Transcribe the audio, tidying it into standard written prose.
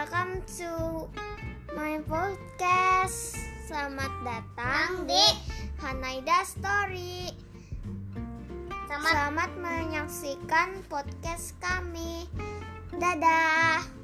welcome to my podcast. Selamat datang di Hanaida Story. Selamat menyaksikan podcast kami. Dadah.